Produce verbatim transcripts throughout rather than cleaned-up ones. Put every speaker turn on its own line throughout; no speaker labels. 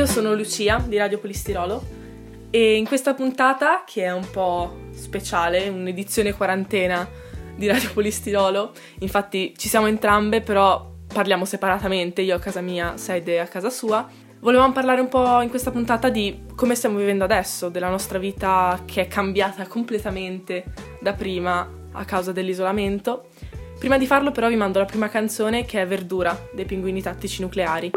sono Lucia di Radio Polistirolo e in questa puntata, che è un po' speciale, un'edizione quarantena di Radio Polistirolo, infatti ci siamo entrambe, però parliamo separatamente, io a casa mia, Saide a casa sua. Volevamo parlare un po' in questa puntata di come stiamo vivendo adesso, della nostra vita che è cambiata completamente da prima a causa dell'isolamento. Prima di farlo però vi mando la prima canzone, che è Verdura dei Pinguini Tattici Nucleari.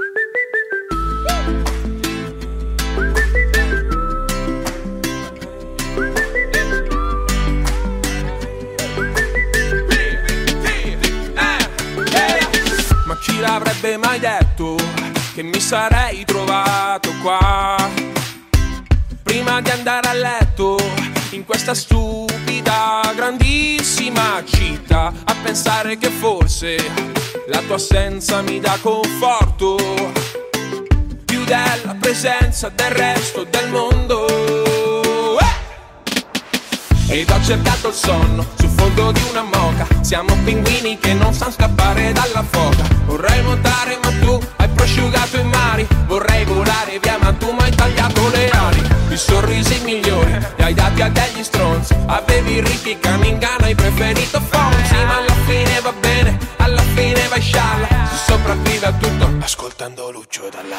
Ma chi l'avrebbe mai detto che mi sarei trovato qua prima di andare a letto in questa stupida grandissima città, a pensare che forse la tua assenza mi dà conforto più della presenza del resto del mondo. eh! Ed ho cercato il sonno sul fondo di una moca, siamo pinguini che non sanno scappare dalla foca. Vorrei nuotare ma tu hai prosciugato i mari, vorrei volare via ma tu mi hai tagliato le ali. I sorrisi migliori li hai dati a degli stronzi, avevi ricchi Caningano, hai preferito Fonzi. Ma alla fine va bene, alla fine vai scialla, si sopravvive a tutto ascoltando Lucio Dalla.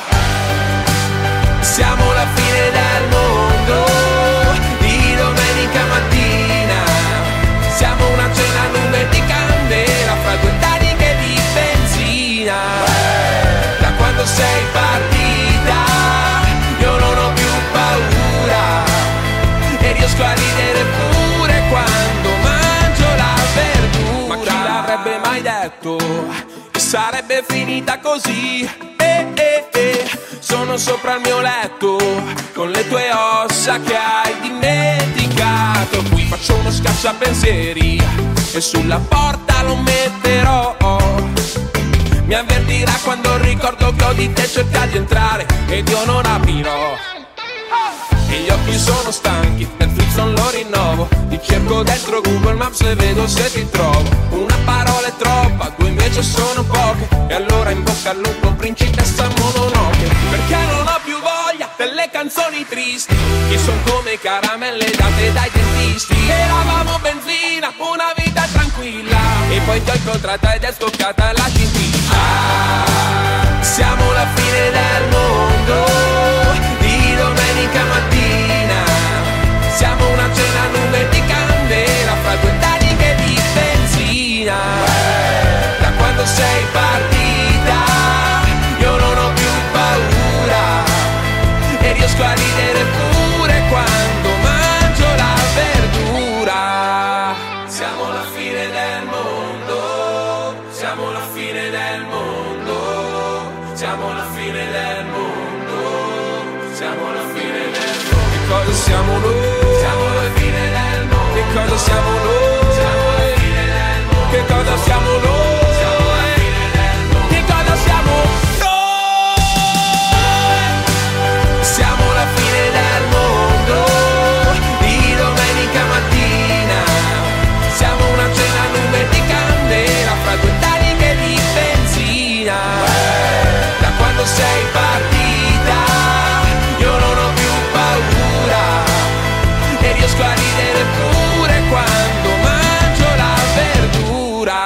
Siamo la fine del mondo di domenica mattina, siamo una cena nube di candela fra due taniche di benzina. Da quando sei partita io non ho più paura e riesco a ridere pure quando mangio la verdura. Ma chi l'avrebbe mai detto che sarebbe finita così? Eh, eh, eh. Sono sopra il mio letto con le tue ossa che hai dimenticato. Qui faccio uno scacciapensieri e sulla porta lo metterò. Mi avvertirà quando ricordo che ho di te cerca di entrare ed io non aprirò. E gli occhi sono stanchi, Netflix non lo rinnovo, ti cerco dentro Google Maps e vedo se ti trovo. Una parola è troppa, due invece sono poche, e allora in bocca al lupo principessa Mononoke. Perché non ho più voglia delle canzoni tristi che son come caramelle date dai dentisti. Eravamo benzina, una vita tranquilla, e poi ti ho incontrata ed è scoccata la cintina. Ah, siamo la fine del mondo di domenica mattina, siamo una cena nube di candela fra due taniche di benzina. Da quando sei partita io non ho più paura e riesco a ridere pure quando mangio la verdura. Siamo la fine del mondo, siamo la fine del mondo, siamo la fine del mondo, siamo la fine del mondo. Che cosa siamo noi? Siamo la fine del mondo. Che cosa siamo noi? Siamo la fine del mondo. Che cosa siamo noi? Siamo la fine del mondo. Che cosa siamo noi? Siamo la fine del mondo di domenica mattina, siamo una cena nube di candela fra due taniche di benzina. Da quando sei partita io non ho più paura e riesco a ridere pure quando mangio la verdura.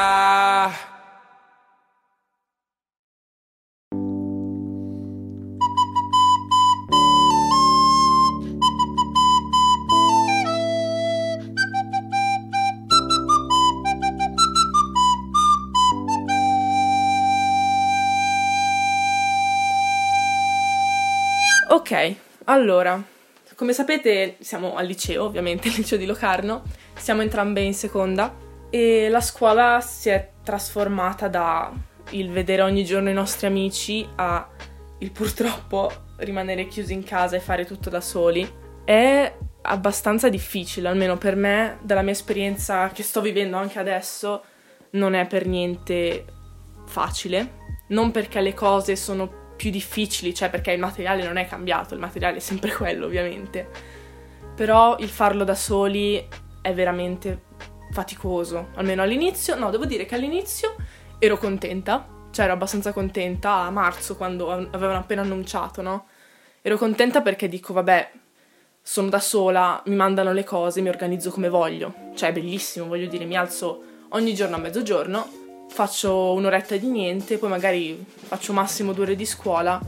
Ok, allora, come sapete siamo al liceo, ovviamente, il liceo di Locarno, siamo entrambe in seconda e la scuola si è trasformata da il vedere ogni giorno i nostri amici a il purtroppo rimanere chiusi in casa e fare tutto da soli. È abbastanza difficile, almeno per me, dalla mia esperienza che sto vivendo anche adesso, non è per niente facile, non perché le cose sono più difficili, cioè perché il materiale non è cambiato, il materiale è sempre quello ovviamente, però il farlo da soli è veramente faticoso, almeno all'inizio. No, devo dire che all'inizio ero contenta, cioè ero abbastanza contenta a marzo quando avevano appena annunciato, no? Ero contenta perché dico, vabbè, sono da sola, mi mandano le cose, mi organizzo come voglio. Cioè, è bellissimo, voglio dire, mi alzo ogni giorno a mezzogiorno, faccio un'oretta di niente, poi magari faccio massimo due ore di scuola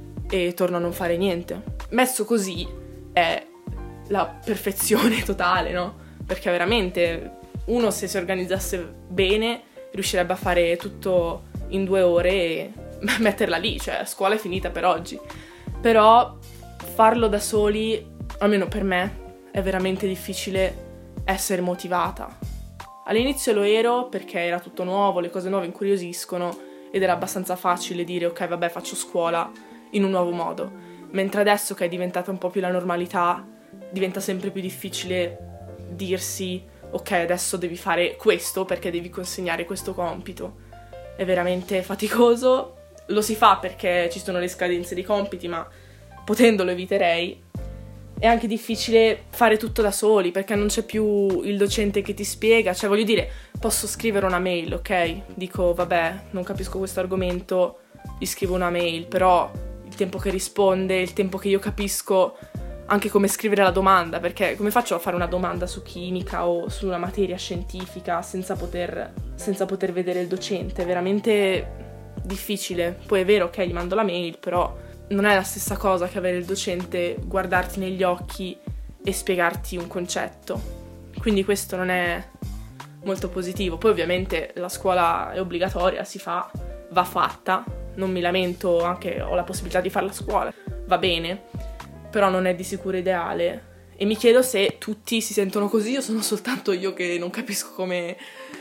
e torno a non fare niente. Messo così è la perfezione totale, no? Perché veramente uno, se si organizzasse bene, riuscirebbe a fare tutto in due ore e metterla lì, cioè la scuola è finita per oggi. Però farlo da soli, almeno per me, è veramente difficile essere motivata. All'inizio lo ero perché era tutto nuovo, le cose nuove incuriosiscono ed era abbastanza facile dire ok, vabbè, faccio scuola in un nuovo modo. Mentre adesso che è diventata un po' più la normalità, diventa sempre più difficile dirsi ok, adesso devi fare questo perché devi consegnare questo compito. È veramente faticoso, lo si fa perché ci sono le scadenze dei compiti, ma potendo lo eviterei. È anche difficile fare tutto da soli perché non c'è più il docente che ti spiega, cioè voglio dire, posso scrivere una mail, ok? Dico vabbè, non capisco questo argomento, gli scrivo una mail, però il tempo che risponde, il tempo che io capisco anche come scrivere la domanda, perché come faccio a fare una domanda su chimica o su una materia scientifica senza poter, senza poter vedere il docente? È veramente difficile. Poi è vero, ok, gli mando la mail, però non è la stessa cosa che avere il docente guardarti negli occhi e spiegarti un concetto. Quindi questo non è molto positivo. Poi ovviamente la scuola è obbligatoria, si fa, va fatta, non mi lamento, anche ho la possibilità di fare la scuola, va bene, però non è di sicuro ideale. E mi chiedo se tutti si sentono così o sono soltanto io che non capisco come,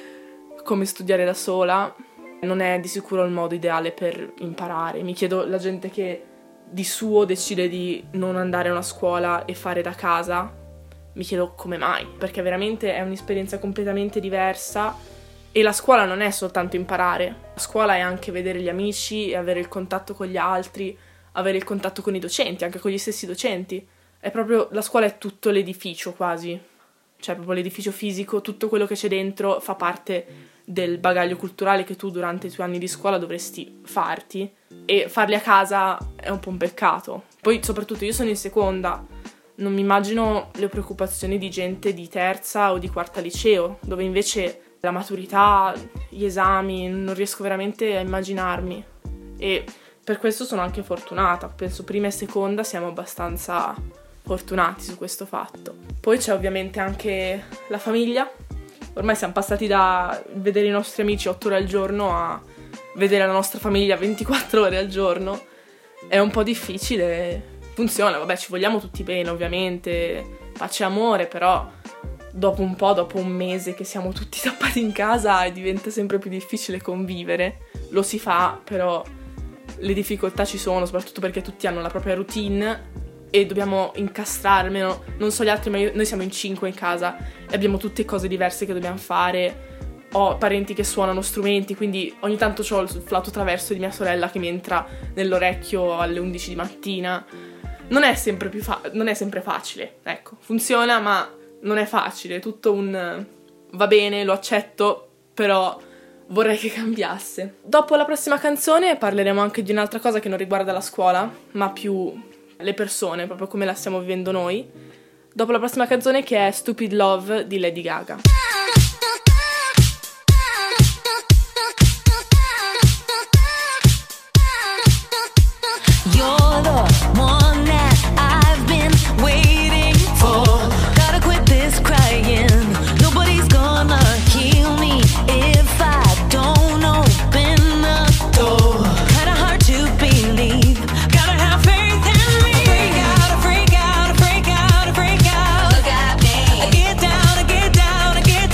come studiare da sola. Non è di sicuro il modo ideale per imparare. Mi chiedo, la gente che di suo decide di non andare a una scuola e fare da casa, mi chiedo come mai, perché veramente è un'esperienza completamente diversa e la scuola non è soltanto imparare, la scuola è anche vedere gli amici e avere il contatto con gli altri, avere il contatto con i docenti, anche con gli stessi docenti. È proprio, la scuola è tutto l'edificio quasi, cioè proprio l'edificio fisico, tutto quello che c'è dentro fa parte del bagaglio culturale che tu durante i tuoi anni di scuola dovresti farti, e farli a casa è un po' un peccato. Poi soprattutto io sono in seconda, non mi immagino le preoccupazioni di gente di terza o di quarta liceo, dove invece la maturità, gli esami, non riesco veramente a immaginarmi, e per questo sono anche fortunata. Penso prima e seconda siamo abbastanza fortunati su questo fatto. Poi c'è ovviamente anche la famiglia. Ormai siamo passati da vedere i nostri amici otto ore al giorno a vedere la nostra famiglia ventiquattro ore al giorno. È un po' difficile, funziona, vabbè, ci vogliamo tutti bene ovviamente, pace e amore, però dopo un po', dopo un mese che siamo tutti tappati in casa, diventa sempre più difficile convivere. Lo si fa, però le difficoltà ci sono, soprattutto perché tutti hanno la propria routine e dobbiamo incastrare, almeno, non so gli altri, ma io, noi siamo in cinque in casa e abbiamo tutte cose diverse che dobbiamo fare. Ho parenti che suonano strumenti, quindi ogni tanto ho il flauto traverso di mia sorella che mi entra nell'orecchio alle undici di mattina. Non è sempre più fa- non è sempre facile, ecco, funziona, ma non è facile, è tutto un va bene, lo accetto, però vorrei che cambiasse. Dopo la prossima canzone parleremo anche di un'altra cosa che non riguarda la scuola, ma più le persone, proprio come la stiamo vivendo noi. Dopo la prossima canzone, che è Stupid Love di Lady Gaga.
You're the one that I've been waiting for. Gotta quit this crying. Nobody's gonna heal me if I don't open the door. Kinda hard to believe. Gotta have faith in me. Freak out, freak out, freak out, freak out. Look at me. I get down, I get down, I get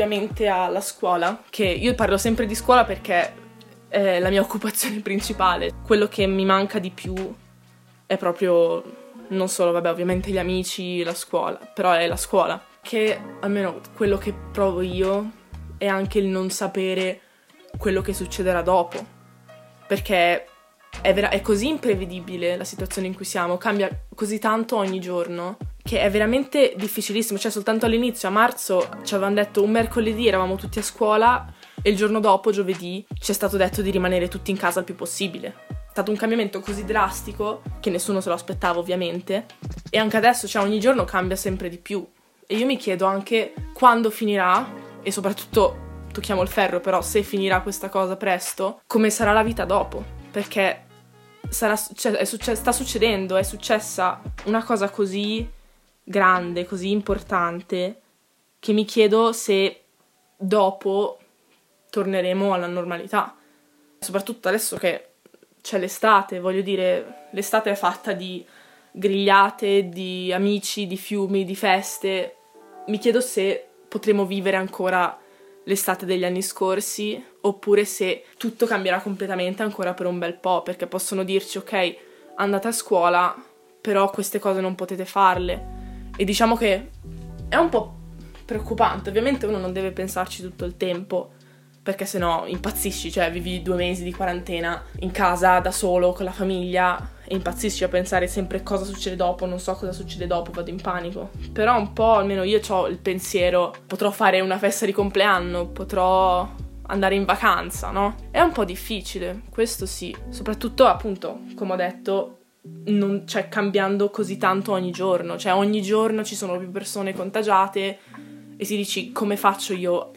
ovviamente alla scuola, che io parlo sempre di scuola perché è la mia occupazione principale. Quello che mi manca di più è proprio, non solo, vabbè, ovviamente gli amici, la scuola, però è la scuola. Che almeno quello che provo io è anche il non sapere quello che succederà dopo, perché è, vera- è così imprevedibile la situazione in cui siamo, cambia così tanto ogni giorno, che è veramente difficilissimo. Cioè, soltanto all'inizio, a marzo, ci avevano detto un mercoledì eravamo tutti a scuola e il giorno dopo, giovedì, ci è stato detto di rimanere tutti in casa il più possibile. È stato un cambiamento così drastico che nessuno se lo aspettava, ovviamente, e anche adesso, cioè, ogni giorno cambia sempre di più. E io mi chiedo anche quando finirà, e soprattutto tocchiamo il ferro, però se finirà questa cosa presto, come sarà la vita dopo, perché sarà, cioè, è succe- sta succedendo, è successa una cosa così grande, così importante, che mi chiedo se dopo torneremo alla normalità, soprattutto adesso che c'è l'estate. Voglio dire, l'estate è fatta di grigliate, di amici, di fiumi, di feste. Mi chiedo se potremo vivere ancora l'estate degli anni scorsi, oppure se tutto cambierà completamente ancora per un bel po', perché possono dirci ok, andate a scuola, però queste cose non potete farle. E diciamo che è un po' preoccupante. Ovviamente uno non deve pensarci tutto il tempo, perché sennò impazzisci, cioè vivi due mesi di quarantena in casa da solo con la famiglia e impazzisci a pensare sempre cosa succede dopo, non so cosa succede dopo, vado in panico. Però un po', almeno io ho il pensiero, potrò fare una festa di compleanno, potrò andare in vacanza, no? È un po' difficile, questo sì, soprattutto appunto, come ho detto, non, cioè, cambiando così tanto ogni giorno, cioè ogni giorno ci sono più persone contagiate e si dici come faccio io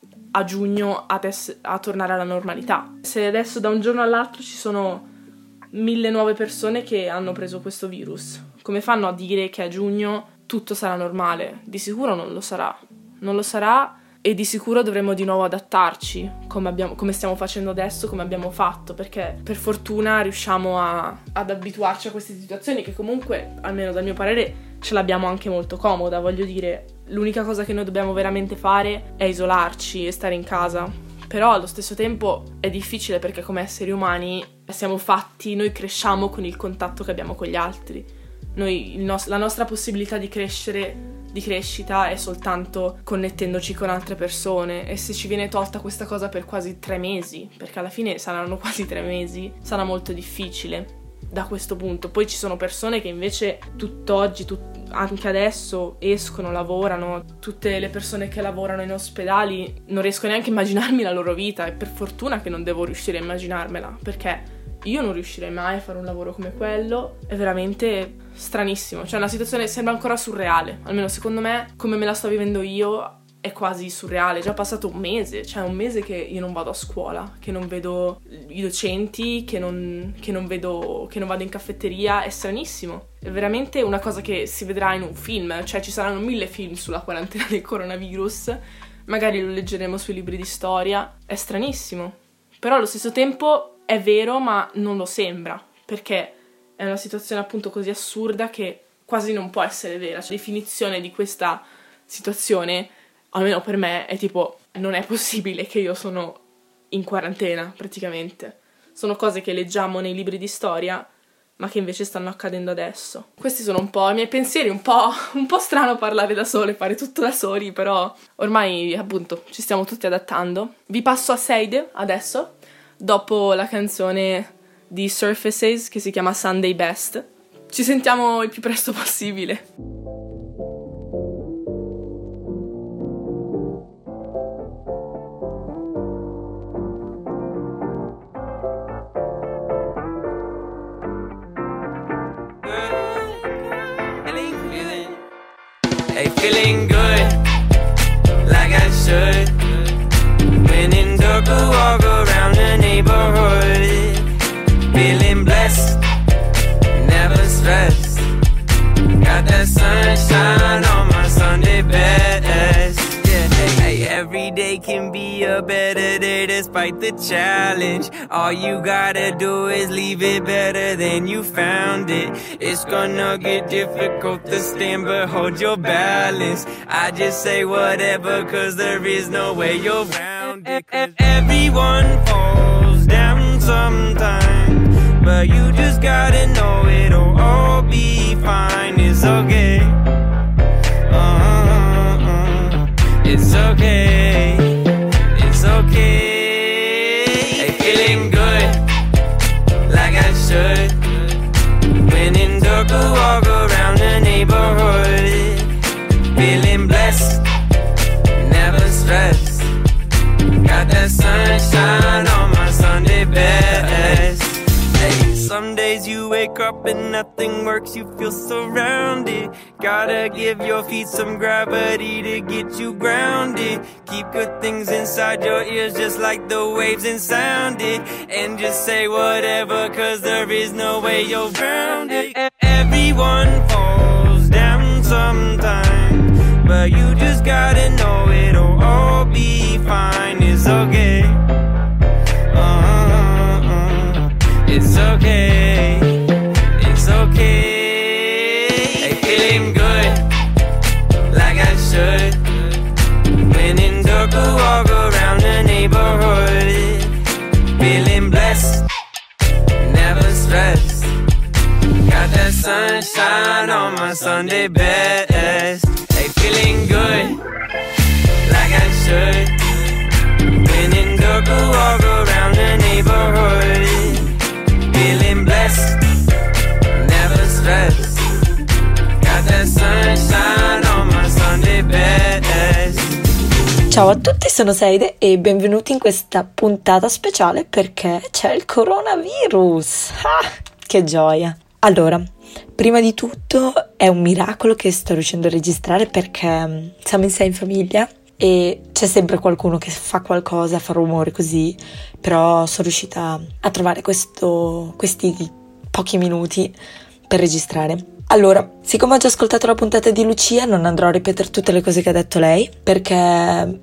a giugno a, tes- a tornare alla normalità. Se adesso da un giorno all'altro ci sono mille nuove persone che hanno preso questo virus, come fanno a dire che a giugno tutto sarà normale? Di sicuro non lo sarà, non lo sarà e di sicuro dovremo di nuovo adattarci come, abbiamo, come stiamo facendo adesso, come abbiamo fatto, perché per fortuna riusciamo a, ad abituarci a queste situazioni che comunque, almeno dal mio parere, ce l'abbiamo anche molto comoda. Voglio dire, l'unica cosa che noi dobbiamo veramente fare è isolarci e stare in casa, però allo stesso tempo è difficile perché come esseri umani siamo fatti, noi cresciamo con il contatto che abbiamo con gli altri. Noi, il nos- la nostra possibilità di crescere, di crescita è soltanto connettendoci con altre persone, e se ci viene tolta questa cosa per quasi tre mesi, perché alla fine saranno quasi tre mesi, sarà molto difficile da questo punto. Poi ci sono persone che invece tutt'oggi, tut- anche adesso, escono, lavorano. Tutte le persone che lavorano in ospedali non riesco neanche a immaginarmi la loro vita, e per fortuna che non devo riuscire a immaginarmela, perché io non riuscirei mai a fare un lavoro come quello. È veramente stranissimo, cioè una situazione sembra ancora surreale, almeno secondo me, come me la sto vivendo io è quasi surreale. È già passato un mese, cioè un mese che io non vado a scuola, che non vedo i docenti, che non, che non vedo, che non vado in caffetteria. È stranissimo, è veramente una cosa che si vedrà in un film, cioè ci saranno mille film sulla quarantena del coronavirus, magari lo leggeremo sui libri di storia. È stranissimo, però allo stesso tempo è vero, ma non lo sembra, perché è una situazione appunto così assurda che quasi non può essere vera. Cioè, la definizione di questa situazione, almeno per me, è tipo, non è possibile che io sono in quarantena, praticamente. Sono cose che leggiamo nei libri di storia, ma che invece stanno accadendo adesso. Questi sono un po' i miei pensieri, un po', un po' strano parlare da sole, fare tutto da soli, però ormai, appunto, ci stiamo tutti adattando. Vi passo a Seide adesso, dopo la canzone di Surfaces che si chiama Sunday Best. Ci sentiamo il più presto possibile.
Hey, feeling good, like I should. When in dark, I walk around the neighborhood. Feeling blessed, never stressed. Got that sunshine on my Sunday best. Yeah, hey, hey, every day can be a better day despite the challenge. All you gotta do is leave it better than you found it. It's gonna get difficult to stand, but hold your balance. I just say whatever, cause there is no way you're around it. Everyone falls down sometime, but you just gotta know it'll all be fine. It's okay. Uh-uh-uh. It's okay. It's okay. Hey, feeling good, like I should. When in dark, I walk around the neighborhood. Feeling blessed, never stressed. Got that sunshine on my Sunday best. Hey, some days you wake up and nothing works, you feel surrounded. Gotta give your feet some gravity to get you grounded. Keep good things inside your ears just like the waves and sound it. And just say whatever, cause there is no way you're around it. Everyone falls down sometime, but you just gotta know it'll all be fine. It's okay. Uh-uh-uh. It's okay. It's okay. Hey, feeling good, like I should. When in dark, I walk around the neighborhood. Feeling blessed, never stressed. Got that sunshine on my Sunday best. Hey, feeling good, like I should. When in dark, I walk around the neighborhood. Feeling blessed, never stressed. Got that sunshine on my Sunday best.
Ciao a tutti, sono Seide e benvenuti in questa puntata speciale perché c'è il coronavirus. Ah, che gioia! Allora, prima di tutto è un miracolo che sto riuscendo a registrare perché siamo in sei in famiglia e c'è sempre qualcuno che fa qualcosa, fa rumore così, però sono riuscita a trovare questo, questi pochi minuti per registrare. Allora, siccome ho già ascoltato la puntata di Lucia, non andrò a ripetere tutte le cose che ha detto lei, perché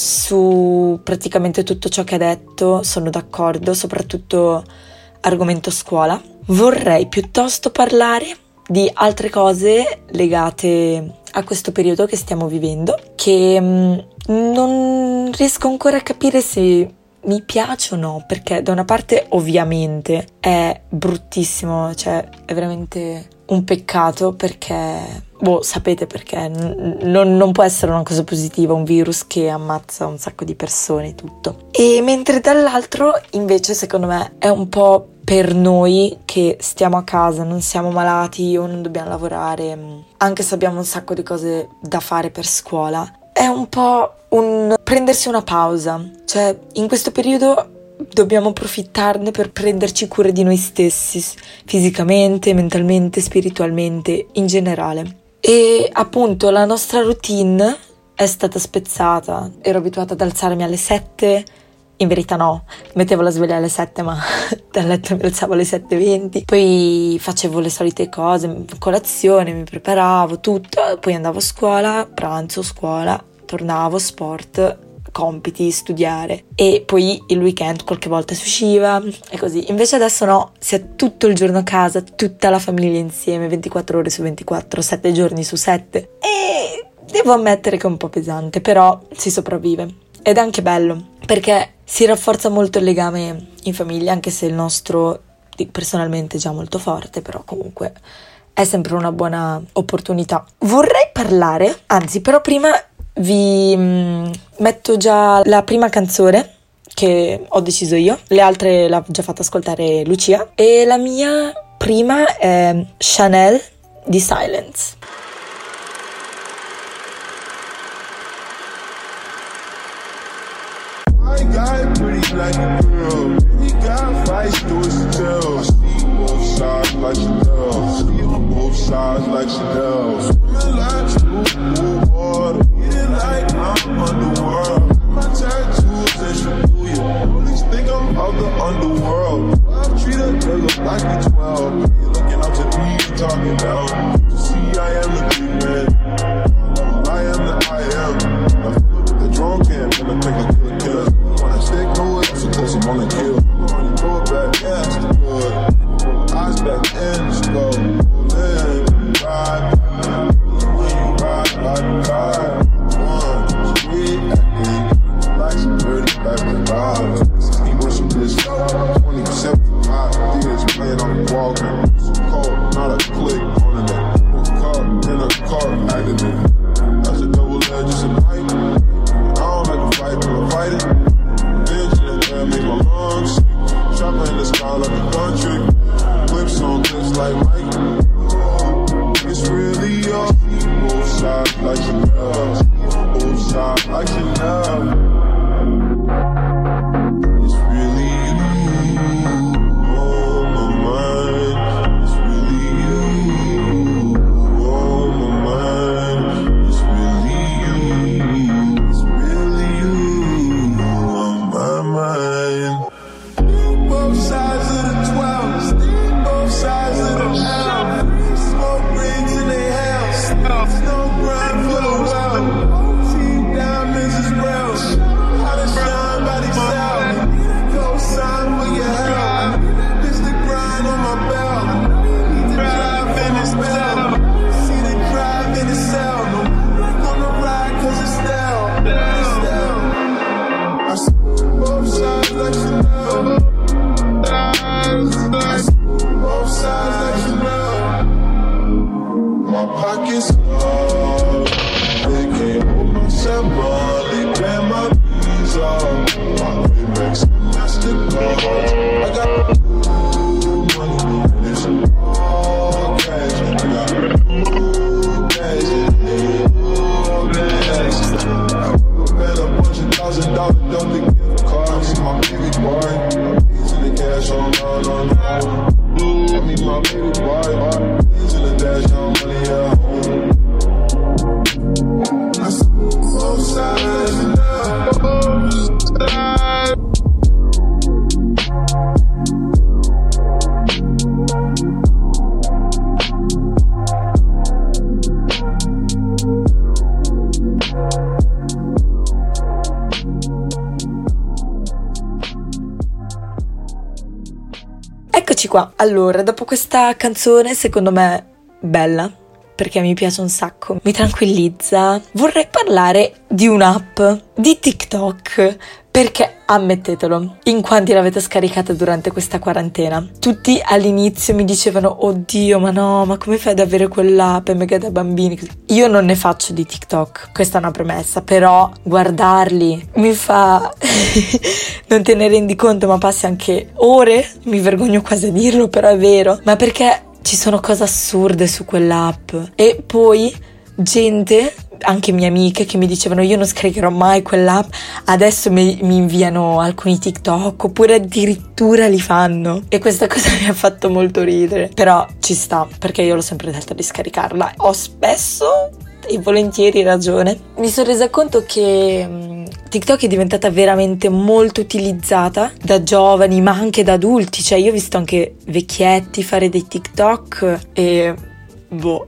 su praticamente tutto ciò che ha detto sono d'accordo, soprattutto argomento scuola. Vorrei piuttosto parlare di altre cose legate a questo periodo che stiamo vivendo, che mh, non riesco ancora a capire se mi piace o no, perché da una parte ovviamente è bruttissimo, cioè è veramente un peccato perché, boh, sapete perché, n- non, non può essere una cosa positiva un virus che ammazza un sacco di persone e tutto. E mentre dall'altro invece secondo me è un po' per noi che stiamo a casa, non siamo malati o non dobbiamo lavorare, anche se abbiamo un sacco di cose da fare per scuola, è un po' un prendersi una pausa, cioè in questo periodo dobbiamo approfittarne per prenderci cura di noi stessi, fisicamente, mentalmente, spiritualmente, in generale. E appunto la nostra routine è stata spezzata, ero abituata ad alzarmi alle sette, in verità no, mettevo la sveglia alle sette ma dal letto mi alzavo alle sette e venti, poi facevo le solite cose, colazione, mi preparavo, tutto, poi andavo a scuola, pranzo, scuola, tornavo, sport, compiti, studiare e poi il weekend qualche volta si usciva e così. Invece adesso no, si è tutto il giorno a casa, tutta la famiglia insieme, ventiquattro ore su ventiquattro, sette giorni su sette e devo ammettere che è un po' pesante, però si sopravvive ed è anche bello perché si rafforza molto il legame in famiglia, anche se il nostro personalmente è già molto forte, però comunque è sempre una buona opportunità. Vorrei parlare, anzi però prima vi mh, metto già la prima canzone che ho deciso io, le altre l'ha già fatta ascoltare Lucia e la mia prima è Chanel di Silence.
I got pretty like a girl. We got fights to his tail. I see both sides like Chanel. See on both sides like Chanel. Swimming like blue water. Eating like I'm underworld. My tattoos and Shibuya. Police think I'm of the underworld. I treat a nigga like a twelve. You looking up to me, talking down. To see I am the big man. I am the I am. I flip the drunk can and I take a talking. It's a call, not a click on it. Caught in a car accident. That's a double-edged, it's a knife. I don't like to fight, but I fight it. Bitch in the air, make my lungs sick. Chopper in the sky like a country. Clips on clips like Mike. It's really up. Both sides like Chanel. Both sides like Chanel. It's really you on my mind. It's really you on my mind. It's really you. It's really you on my mind. Both sides of the twelve. Both sides of the L. Smoke rings in their house. Snow grind full of well. Team diamonds is real. How to shine by themselves. Go sign for your help. This the grind on my belt. Need to drive in this bell. See the drive in the cell. No black on the ride cause it's stale. It's stale. I see both sides like Chanel. I see both sides like Chanel. My pockets full. They can't hold my seven. They ban my visa. My Amex and MasterCard. I got money and it's all cash. I got cash and all cash. I spent a bunch of thousand dollars on the gift cards. My baby boy. He's in the cash on on on. I mean my baby boy. He's in the dash on money at home. I see both sides now. Both sides.
Eccoci qua. Allora, dopo questa canzone, secondo me bella, perché mi piace un sacco, mi tranquillizza, vorrei parlare di un'app di TikTok, perché ammettetelo, in quanti l'avete scaricata durante questa quarantena? Tutti all'inizio mi dicevano oddio, ma no, ma come fai ad avere quell'app, è mega da bambini? Io non ne faccio di TikTok, questa è una premessa, però guardarli mi fa non te ne rendi conto, ma passi anche ore, mi vergogno quasi a dirlo, però è vero, ma perché ci sono cose assurde su quell'app. E poi gente, anche mie amiche, che mi dicevano io non scaricherò mai quell'app, adesso mi, mi inviano alcuni TikTok, oppure addirittura li fanno, e questa cosa mi ha fatto molto ridere, però ci sta, perché io l'ho sempre detto di scaricarla, ho spesso e volentieri ragione. Mi sono resa conto che mh, TikTok è diventata veramente molto utilizzata da giovani, ma anche da adulti, cioè io ho visto anche vecchietti fare dei TikTok e boh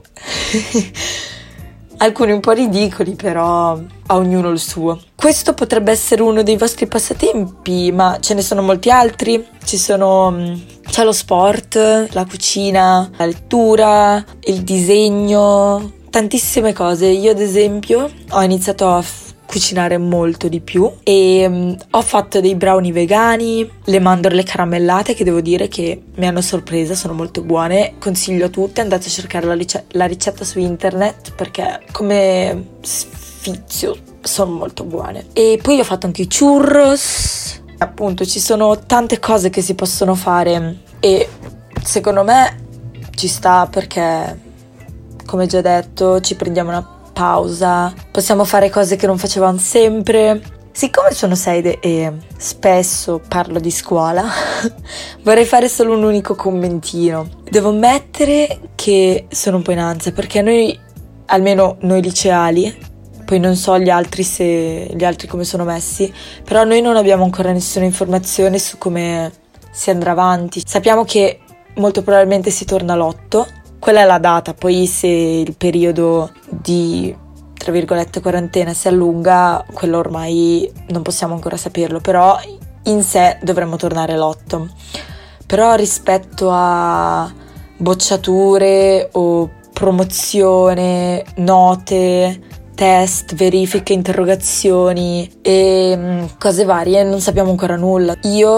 alcuni un po' ridicoli, però a ognuno il suo. Questo potrebbe essere uno dei vostri passatempi, ma ce ne sono molti altri. Ci sono, c'è lo sport, la cucina, la lettura, il disegno, tantissime cose. Io ad esempio ho iniziato a f- cucinare molto di più e um, ho fatto dei brownie vegani, le mandorle caramellate che devo dire che mi hanno sorpresa, sono molto buone, consiglio a tutti, andate a cercare la, rice- la ricetta su internet perché come sfizio sono molto buone. E poi ho fatto anche i churros, appunto ci sono tante cose che si possono fare e secondo me ci sta perché, come già detto, ci prendiamo una pausa, possiamo fare cose che non facevamo sempre. Siccome sono sede e spesso parlo di scuola, vorrei fare solo un unico commentino. Devo ammettere che sono un po' in ansia perché noi, almeno noi liceali, poi non so gli altri se gli altri come sono messi, però noi non abbiamo ancora nessuna informazione su come si andrà avanti. Sappiamo che molto probabilmente si torna all'otto. Quella è la data, poi se il periodo di, tra virgolette, quarantena si allunga, quello ormai non possiamo ancora saperlo, però in sé dovremmo tornare l'otto. Però rispetto a bocciature o promozione, note, test, verifiche, interrogazioni e cose varie, non sappiamo ancora nulla. Io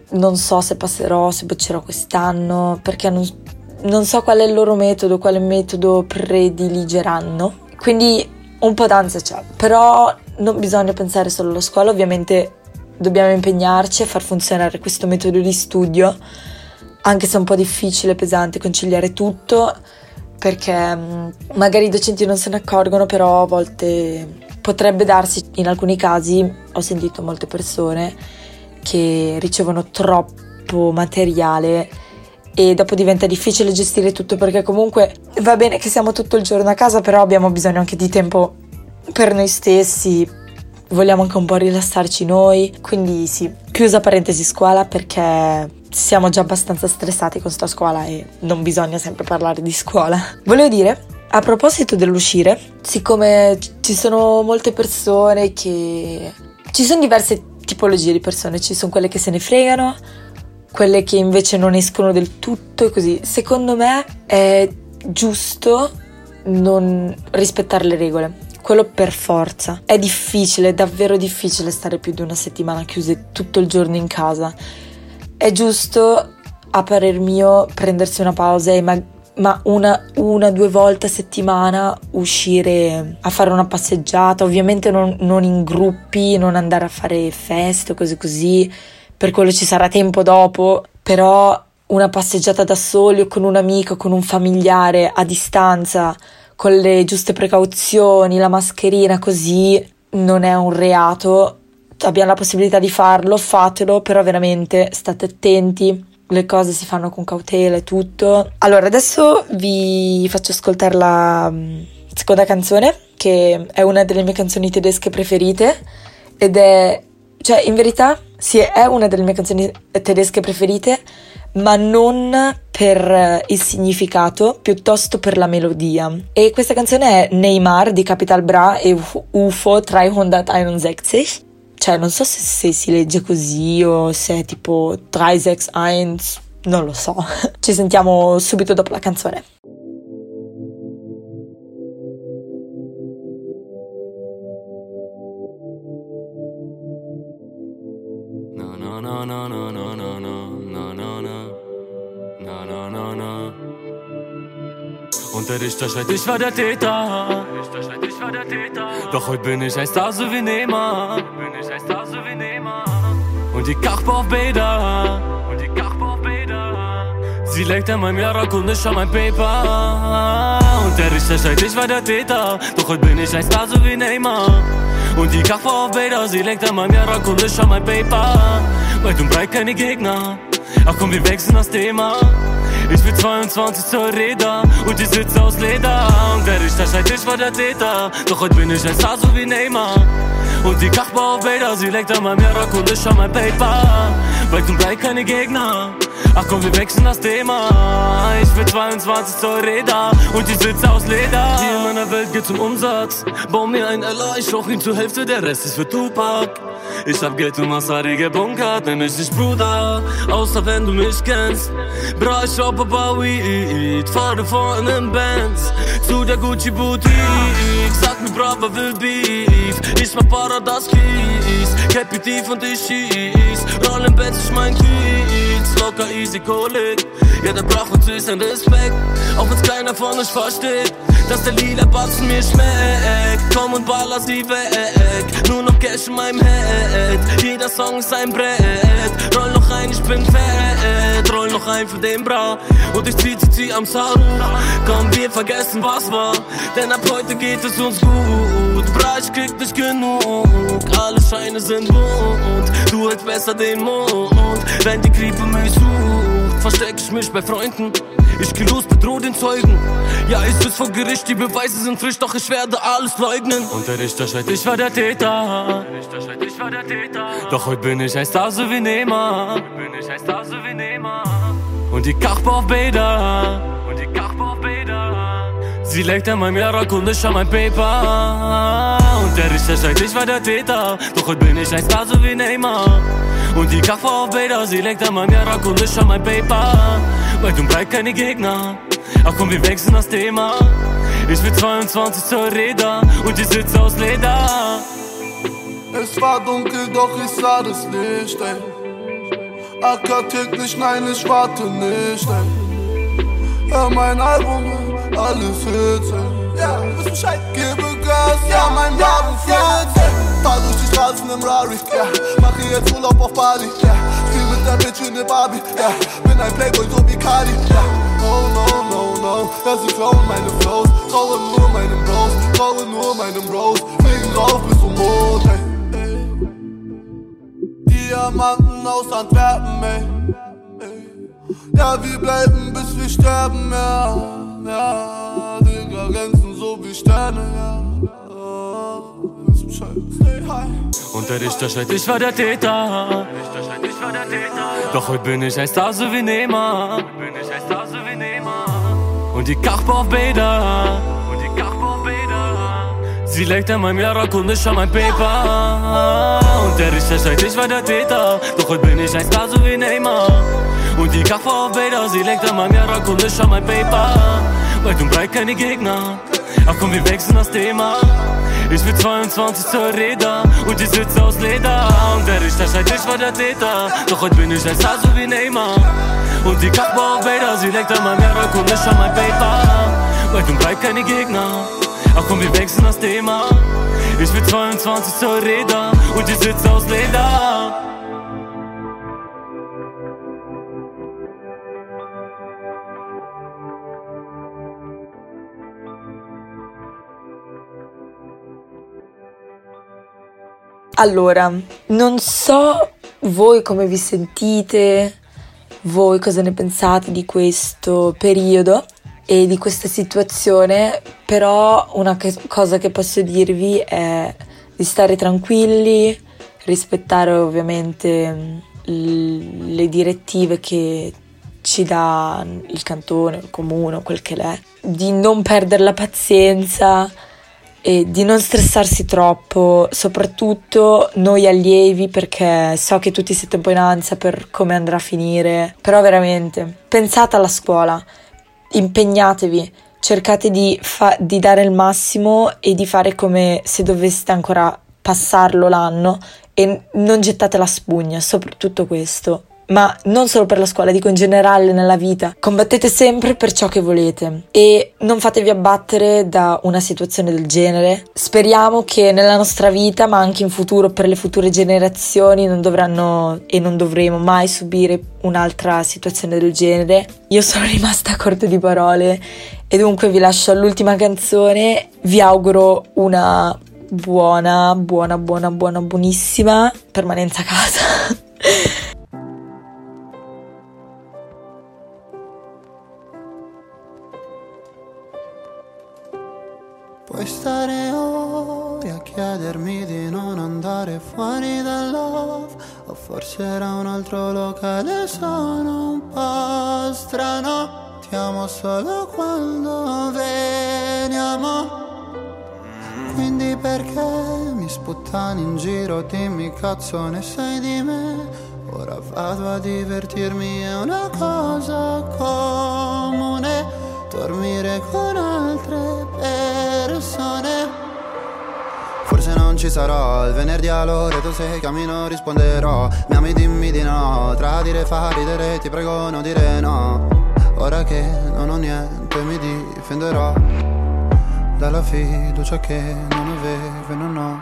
non so se passerò, se boccerò quest'anno, perché non, non so qual è il loro metodo, quale metodo prediligeranno. Quindi un po' d'ansia c'è, però non bisogna pensare solo alla scuola, ovviamente dobbiamo impegnarci a far funzionare questo metodo di studio, anche se è un po' difficile, pesante conciliare tutto, perché magari i docenti non se ne accorgono, però a volte potrebbe darsi, in alcuni casi ho sentito molte persone che ricevono troppo materiale e dopo diventa difficile gestire tutto, perché comunque va bene che siamo tutto il giorno a casa, però abbiamo bisogno anche di tempo per noi stessi, vogliamo anche un po' rilassarci noi, quindi sì, chiusa parentesi scuola, perché siamo già abbastanza stressati con sta scuola e non bisogna sempre parlare di scuola. Volevo dire, a proposito dell'uscire, siccome ci sono molte persone che... ci sono diverse tipologie di persone, ci sono quelle che se ne fregano, quelle che invece non escono del tutto e così. Secondo me è giusto non rispettare le regole, quello per forza. È difficile, è davvero difficile stare più di una settimana chiuse tutto il giorno in casa. È giusto, a parer mio, prendersi una pausa e ma, ma una, una, due volte a settimana uscire a fare una passeggiata, ovviamente non, non in gruppi, non andare a fare feste o cose così, per quello ci sarà tempo dopo, però una passeggiata da soli o con un amico, con un familiare a distanza, con le giuste precauzioni, la mascherina, così non è un reato. Abbiamo la possibilità di farlo, fatelo, però veramente state attenti, le cose si fanno con cautela e tutto. Allora, adesso vi faccio ascoltare la seconda canzone, che è una delle mie canzoni tedesche preferite, ed è, cioè in verità, sì, è una delle mie canzoni tedesche preferite, ma non per il significato, piuttosto per la melodia. E questa canzone è Neymar di Capital Bra e U F O treihunderteinundsechzig. Cioè, non so se, se si legge così o se è tipo treihunderteinunduno, non lo so. Ci sentiamo subito dopo la canzone.
No, no, no, no, no, no, no, no, no, no, no, no, no, no, no. Und der Richter schreit, ich war der Täter. Doch heute bin ich ein Star, so wie Neymar. Und die Kachbau auf Bäder. Sie legt an meinem Jarak und ich schau mein Paper. Und der Richter schreit, ich war der Täter. Doch heute bin ich ein Star, so wie Neymar. Und die Kachbau auf Bäder. Sie legt an meinem Jarak und ich schau mein Paper. Weit und breit keine Gegner. Ach komm, wir wechseln das Thema. Ich bin zweiundzwanzig Zoll Räder und die Sitze aus Leder. Und der Richter schreit, ich war der Täter. Doch heute bin ich ein Star, so wie Neymar. Und die Kachbau auf Bäder, sie legt an meinem Jarak und ich schau mein Paper. Weit und breit keine Gegner. Ach komm, wir wechseln das Thema. Ich bin zweiundzwanzig Zoll Räder und die Sitze aus Leder. Hier in meiner Welt geht's um Umsatz. Bau mir ein L A, ich rauch ihn zur Hälfte, der Rest ist für Tupac. Ich hab Geld und Masari gebunkert, nenn mich nicht Bruder, außer wenn du mich kennst. Bra, ich raub aber Weed, fahre vor in nem Benz zu der Gucci Boutique. Sag mir, Brava will Beef, ich mach Paradas Kies, Cappy tief und ich schieß, roll im Benz, ich mein Kiez, locker easy Kolik. Ja, der braucht uns süßen Respekt, auch wenn's keiner von euch versteht, dass der lila Batzen mir schmeckt. Komm und baller sie weg, nur noch Cash in meinem Head. Jeder Song ist ein Brett, roll noch ein, ich bin fett. Roll noch ein für den Bra und ich zieh, zieh, zieh am Saru. Komm, wir vergessen was war, denn ab heute geht es uns gut. Bra, ich krieg nicht genug, alle Scheine sind bunt. Du hältst besser den Mund, wenn die Krippe mich sucht, versteck ich mich bei Freunden. Ich geh los, bedroh den Zeugen. Ja, ich sitz vor Gericht, die Beweise sind frisch, doch ich werde alles leugnen. Und der Richter schreit, ich war der Täter. Doch heute bin ich ein Star, so wie Neymar. Und die Kachbau auf Bäder. Sie legt an meinem Jarak und ich schau mein Paper. Und der Richter schreit, ich war der Täter. Doch heute bin ich ein Star, so wie Neymar. Und die Kachbau auf Bäder. Sie legt an meinem Jarak und ich schau mein Paper. Weit und breit keine Gegner. Ach komm, wir wechseln das Thema. Ich will zweiundzwanzig Zoll Räder und die Sitze aus Leder.
Es war dunkel, doch ich sah das Licht, ey.
Acker täglich, nein, ich warte nicht, ey. Hör mein Album, alles Hits, ey. Ja, wisst Bescheid, gebe Gas, ja, mein Wagen fährt, ey. Fahr durch die Straßen im Rari, ja. Mache jetzt Urlaub auf Bali, ja. Spiel mit der Bitch in der Barbie, ja. Bin ein Playboy, so wie Cardi, ja. No, no, no, no, ja, sie klauen meine Flows. Traue nur meinen Bros, traue nur meinen Bros. Fliegen rauf bis zum Mond, ey. Diamanten aus Antwerpen, ey, ey. Ja, wir bleiben bis wir sterben, ja. Ja, Digga, glänzen so wie Sterne, ja.
Und der Richter schreit, ich war der Täter. Doch heute bin ich ein Star so wie Neymar. Und die Kachba auf Bäder. Sie legt an meinem Jarak und ich schau mein Paper. Und der Richter schreit, ich war der Täter. Doch heute bin ich ein Star so wie Neymar. Und die Kachba auf Bäder. Sie legt an meinem Jarak und ich schau mein Paper. Weit und breit keine Gegner. Ach komm, wir wechseln das Thema. Ich bin zweiundzwanzig zur Räder und die Sitze aus Leder. Und der Richter schreit, ich war der Täter. Doch heute bin ich ein Star so wie Neymar. Und die Kachba auf Bäder, sie legt an meinem Jarak und ich schau mein Paper. Weit und breit keine Gegner. Ach komm, wir wechseln das Thema. Ich bin zweiundzwanzig zur Räder und die Sitze aus Leder.
Allora, non so voi come vi sentite, voi cosa ne pensate di questo periodo e di questa situazione, però una che- cosa che posso dirvi è di stare tranquilli, rispettare ovviamente l- le direttive che ci dà il cantone, il comune, quel che l'è, di non perdere la pazienza e di non stressarsi troppo, soprattutto noi allievi, perché so che tutti siete un po' in ansia per come andrà a finire, però veramente pensate alla scuola, impegnatevi, cercate di, fa- di dare il massimo e di fare come se doveste ancora passarlo l'anno e non gettate la spugna, soprattutto questo. Ma non solo per la scuola, dico in generale nella vita. Combattete sempre per ciò che volete e non fatevi abbattere da una situazione del genere. Speriamo che nella nostra vita, ma anche in futuro per le future generazioni, non dovranno e non dovremo mai subire un'altra situazione del genere. Io sono rimasta a corto di parole e dunque vi lascio all'ultima canzone. Vi auguro una buona, buona, buona, buona, buonissima permanenza a casa.
Puoi stare ore a chiedermi di non andare fuori dal love, o forse era un altro locale, sono un po' strano. Ti amo solo quando veniamo, quindi perché mi sputtani in giro, dimmi cazzo ne sai di me. Ora vado a divertirmi, è una cosa comune dormire con altre persone. Forse non ci sarò il venerdì a Loreto, se cammino risponderò. Mi ami dimmi di no, tradire fa ridere, ti prego non dire no. Ora che non ho niente mi difenderò dalla fiducia che non avevo e non ho.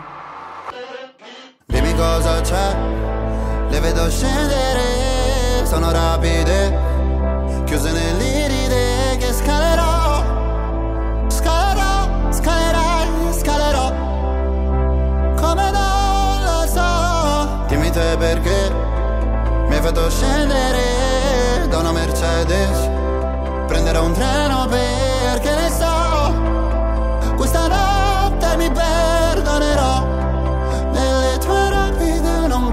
Dimmi cosa c'è, le vedo scendere, sono rapide, chiuse nell'iride che scalerò, scalerò, scalerai, scalerò, come non lo so. Dimmi te perché mi hai fatto scendere da una Mercedes, prenderò un treno perché ne so, questa notte mi perdonerò, nelle tue rapide non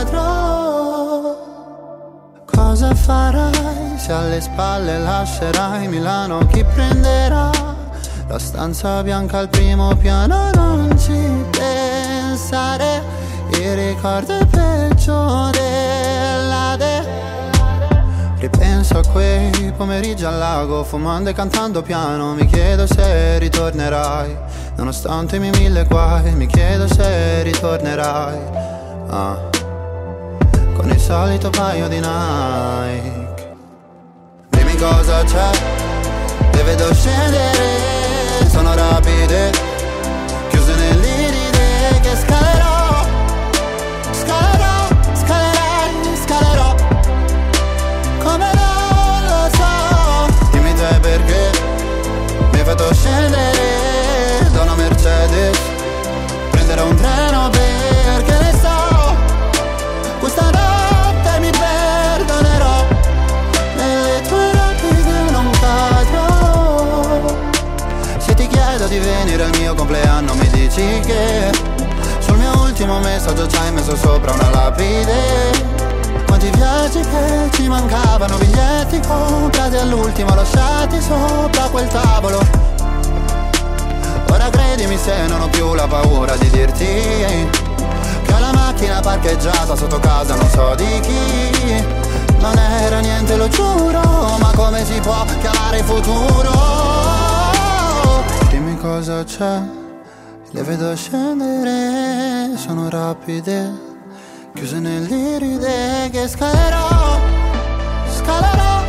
cadrò. Cosa farai se alle spalle lascerai Milano? Chi prenderà la stanza bianca al primo piano? Non ci pensare, il ricordo è peggio dell'Ade. Ripenso a quei pomeriggi al lago, fumando e cantando piano. Mi chiedo se ritornerai, nonostante i miei mille guai. Mi chiedo se ritornerai, ah. con il solito paio di Nike. Dimmi cosa c'è, le vedo scendere, sono rapide, chiuse nell'iride che scalerò, scalerò, scalerei, scalerò, come non lo so. Dimmi te perché mi hai fatto scendere da una Mercedes, prenderò un treno perché ne so, questa notte mi perdonerò, nelle tue rapide non cadrò. Se ti chiedo di venire al mio compleanno mi dici che sul mio ultimo messaggio ci hai messo sopra una lapide. Quanti viaggi che ci mancavano, biglietti comprati all'ultimo lasciati sopra quel tavolo. Ora credimi se non ho più la paura di dirti che ho la macchina parcheggiata sotto casa non so di chi. Non era niente lo giuro, ma come si può chiamare il futuro? Dimmi cosa c'è, le vedo scendere, sono rapide, chiuse nell'iride che scalerò, scalerò,